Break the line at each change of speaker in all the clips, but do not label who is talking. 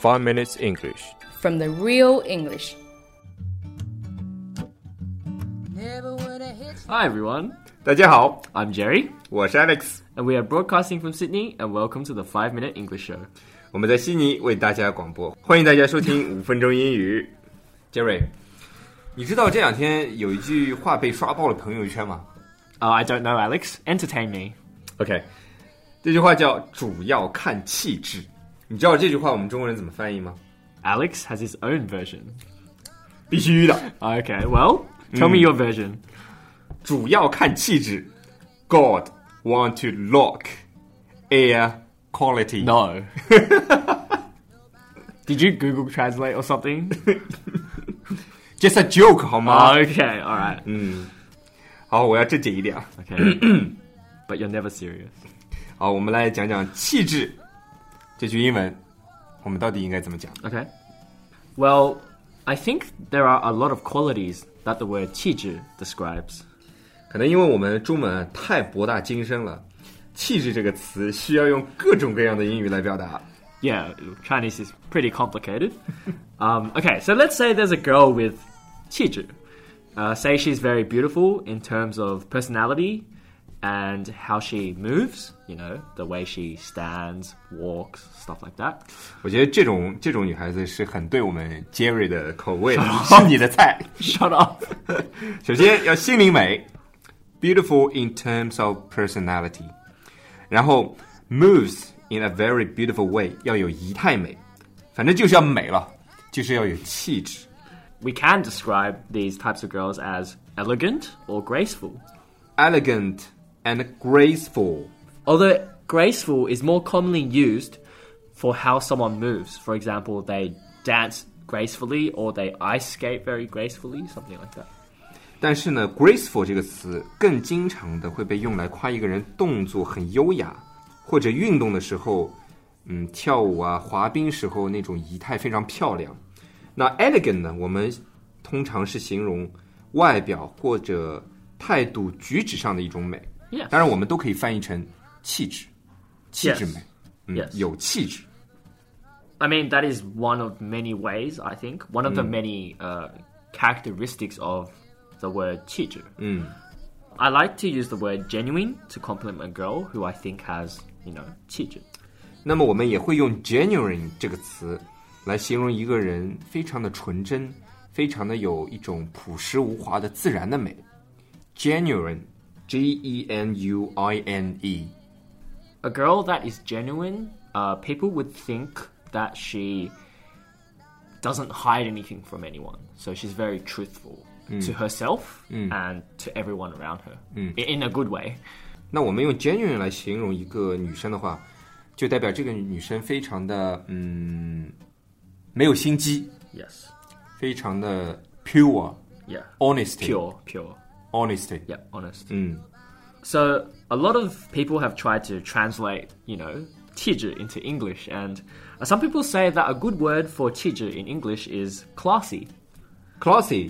5 Minutes English.
From the real English.
Hi everyone,
大家好，
I'm Jerry,
我是 Alex，
and we are broadcasting from Sydney, and welcome to the 5 Minute English Show.
我们在悉尼为大家广播，欢迎大家收听5分钟英语。Jerry， 你知道这两天有一句话被刷爆了朋友圈吗？
I don't know, Alex. Entertain me.
OK， 这句话叫主要看气质。你知道这句话我们中国人怎么翻译吗？
Alex has his own version.
必须的，
Okay, well, tell me your version.
主要看气质。God want to look air quality.
No. Did you Google Translate or something?
Just a joke 好吗？
Okay, alright.
好，我要正经一点啊。
Okay. But you're never serious.
好，我们来讲讲气质这句英文，我们到底应该怎么讲？
Okay. Well, I think there are a lot of qualities that the word 气质 describes.
可能因为我们中文太博大精深了，气质这个词需要用各种各样的英语来表达。
Yeah, Chinese is pretty complicated. Okay, so let's say there's a girl with 气质. Say she's very beautiful in terms of personality and how she moves, you know, the way she stands, walks, stuff like that.
我觉得这种女孩子是很对我们 Jerry 的口味的，是你的菜。
Shut up.
首先要心灵美 ，beautiful in terms of personality， 然后 moves in a very beautiful way， 要有仪态美，反正就是要美了，就是要有气质。
We can describe these types of girls as elegant or graceful.
Elegant and graceful.
Although graceful is more commonly used for how someone moves. For example, they dance gracefully or they ice skate very gracefully, something like that.
但是呢 graceful 这个词更经常的会被用来夸一个人动作很优雅，或者运动的时候跳舞啊滑冰时候那种仪态非常漂亮。那 elegant 呢，我们通常是形容外表或者态度举止上的一种美。
Yes.
当然我们都可以翻译成气质，气质美。
Yes.
有气质。
I mean, that is one of many ways, I think. One of the many characteristics of the word 气质. I like to use the word genuine to compliment a girl who I think has, you know, 气质.
那么我们也会用 genuine 这个词来形容一个人非常的纯真，非常的有一种朴实无华的自然的美。 Genuine, G-E-N-U-I-N-E.
A girl that is genuine, people would think that she doesn't hide anything from anyone. So she's very truthful to herself and to everyone around her, in a good way.
那我们用 genuine 来形容一个女生的话，就代表这个女生非常的没有心机，
Yes.
非常的 pure,
Yeah.
honesty,
Pure.
honesty.
Yeah, honest. So a lot of people have tried to translate, you know, 气质 into English, and some people say that a good word for 气质 in English is classy.
Classy,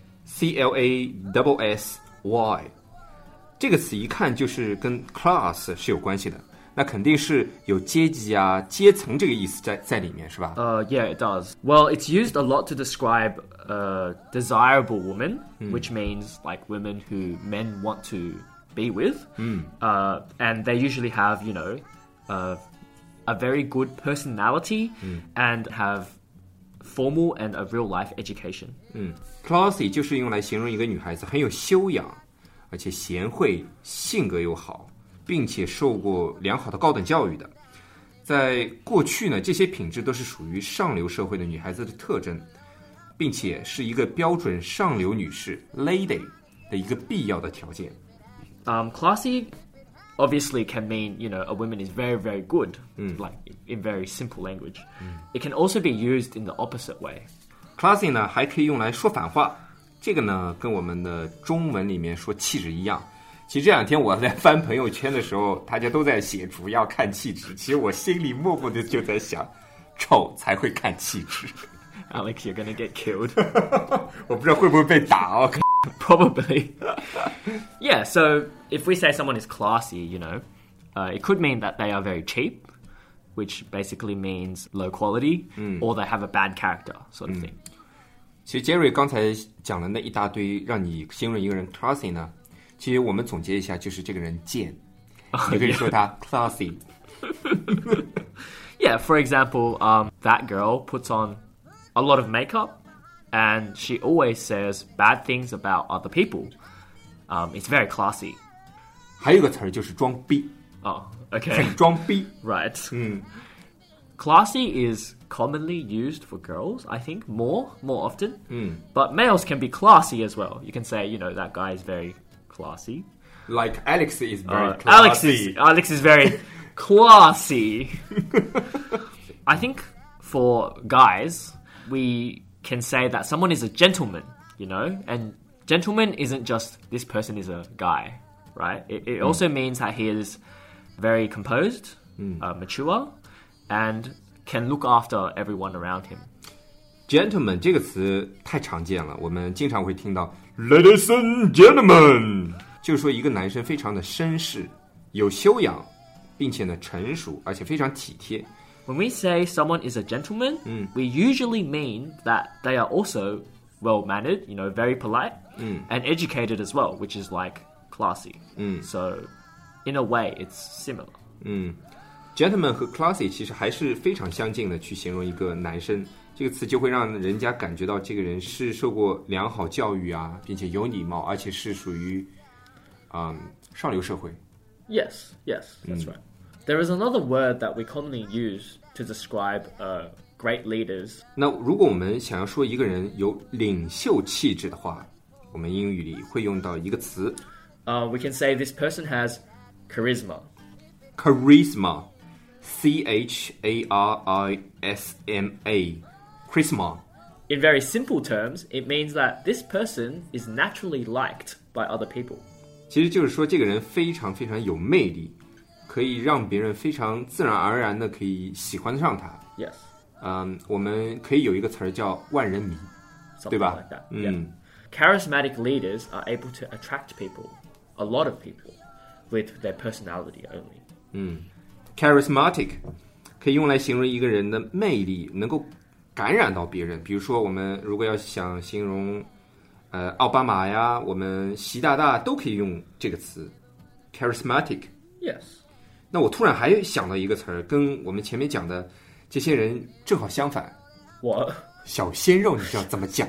C-L-A-S-S-Y. 这个词一看就是跟 class 是有关系的，那肯定是有阶级啊、阶层这个意思在里面，是吧？
Yeah, it does. Well, it's used a lot to describe a desirable woman, which means like women who men want to be with. And they usually have, you know, a very good personality and have formal and a real-life education.
Classy 就是用来形容一个女孩子很有修养，而且贤惠，性格又好，并且受过良好的高等教育的。在过去呢，这些品质都是属于上流社会的女孩子的特征，并且是一个标准上流女士 lady 的一个必要的条件。
Classy obviously can mean, you know, a woman is very, very good, like in very simple language. It can also be used in the opposite way.
Classy 呢，还可以用来说反话，这个呢，跟我们的中文里面说气质一样。其实这两天我在翻朋友圈的时候，大家都在写主要看气质，其实我心里默默的就在想，丑才会看气质。
Alex, you're gonna get killed.
我不知道会不会被打哦。
Probably. Yeah, so if we say someone is classy, you know, it could mean that they are very cheap. which basically means low quality, or they have a bad character sort of thing.
其实 Jerry 刚才讲了那一大堆让你形容一个人 classy 呢，其实我们总结一下，就是这个人贱，你可以说他 classy。
Yeah, for example, that girl puts on a lot of makeup and she always says bad things about other people. It's very classy.
还有一个词儿就是装逼。
Oh, okay.
很装逼。
Right. Classy is commonly used for girls, I think, more often. But males can be classy as well. You can say, that guy is very classy.
Like Alex is very classy.
Alex is very classy. I think for guys, we can say that someone is a gentleman, and gentleman isn't just this person is a guy, right? It also means that he is very composed, mature, and can look after everyone around him.
Gentleman 这个词太常见了，我们经常会听到 Ladies and gentlemen， 就是说一个男生非常的绅士，有修养，并且呢成熟，而且非常体贴。
When we say someone is a gentleman, we usually mean that they are also well-mannered, very polite, and educated as well, which is like classy. So, in a way, it's similar.
Gentleman 和 classy 其实还是非常相近的，去形容一个男生，这个词就会让人家感觉到这个人是受过良好教育啊，并且有礼貌，而且是属于上流社会。
Yes, that's right. There is another word that we commonly use to describe great leaders.
那如果我们想要说一个人有领袖气质的话，我们英语里会用到一个词。
We can say this person has charisma.
Charisma, C-H-A-R-I-S-M-A, charisma.
In very simple terms, it means that this person is naturally liked by other people.
其实就是说这个人非常非常有魅力，可以让别人非常自然而然的可以喜欢上他。
Yes.
我们可以有一个词儿叫万人迷，对吧？
Like that. Yeah. Charismatic leaders are able to attract people, a lot of people, with their personality only.
Charismatic 可以用来形容一个人的魅力，能够感染到别人。比如说，我们如果要想形容奥巴马呀，我们习大大都可以用这个词 charismatic。
Yes.
那我突然还想到一个词儿，跟我们前面讲的这些人正好相反。
What?
小鲜肉，你知道怎么讲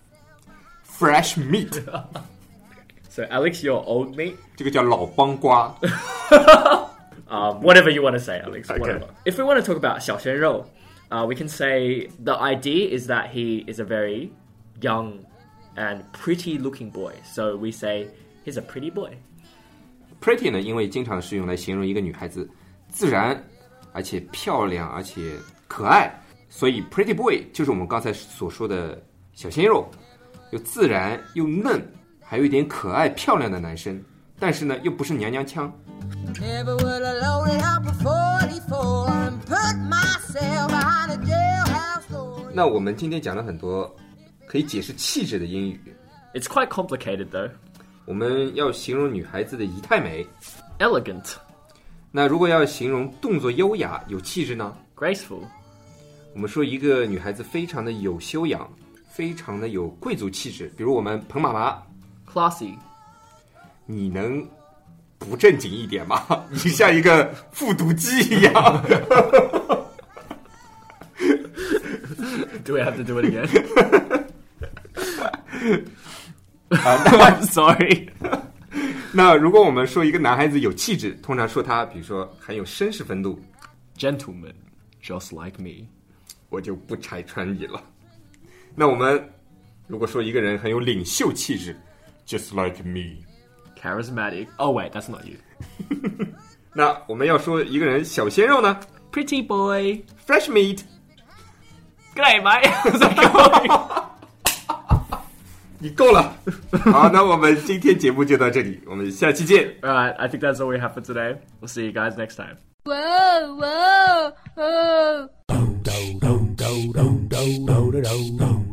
？Fresh meat。
So, Alex, you're old meat?
这个叫老帮瓜。
Whatever you want to say, Alex.
Okay.
Whatever. If we want to talk about 小鲜肉, we can say the idea is that he is a very young and pretty-looking boy. So we say he's a pretty boy.
Pretty 呢，因为经常是用来形容一个女孩子自然，而且漂亮，而且可爱，所以 pretty boy 就是我们刚才所说的小鲜肉，又自然又嫩，还有一点可爱漂亮的男生，但是呢，又不是娘娘腔。Never would have loaded up a 44 and put myself behind a jailhouse door. 那我们今天讲了很多可以解释气质的英语。
It's quite complicated, though.
我们要形容女孩子的仪态美
Elegant.
那如果要形容动作优雅有气质呢
Graceful.
我们说一个女孩子非常的有修养，非常的有贵族气质，比如我们彭妈妈
Classy.
你能不正经一点吗？你像一个复读机一样。
Do we have to do it again? I'm sorry.
那如果我们说一个男孩子有气质，通常说他比如说很有绅士风度
Gentleman, just like me.
我就不拆穿你了。那我们如果说一个人很有领袖气质 Just like me.
Charismatic. Oh wait, that's not you.
那我们要说一个人小鲜肉呢
Pretty boy.
Fresh meat.
G'day, mate. How's it going?
你够了。好，那我们今天节目就到这里，我们下期见。
Alright, I think that's all we have for today. We'll see you guys next time.
Whoa, whoa, whoa.
do do do do do do do do do.